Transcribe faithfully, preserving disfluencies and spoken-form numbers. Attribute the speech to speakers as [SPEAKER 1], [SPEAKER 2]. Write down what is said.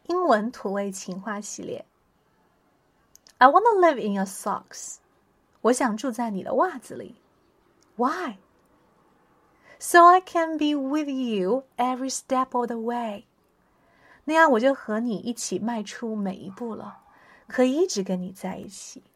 [SPEAKER 1] 英文土味情话系列。I want to live in your socks. 我想住在你的袜子里。Why? So I can be with you every step of the way. 那样我就和你一起迈出每一步了，可以一直跟你在一起。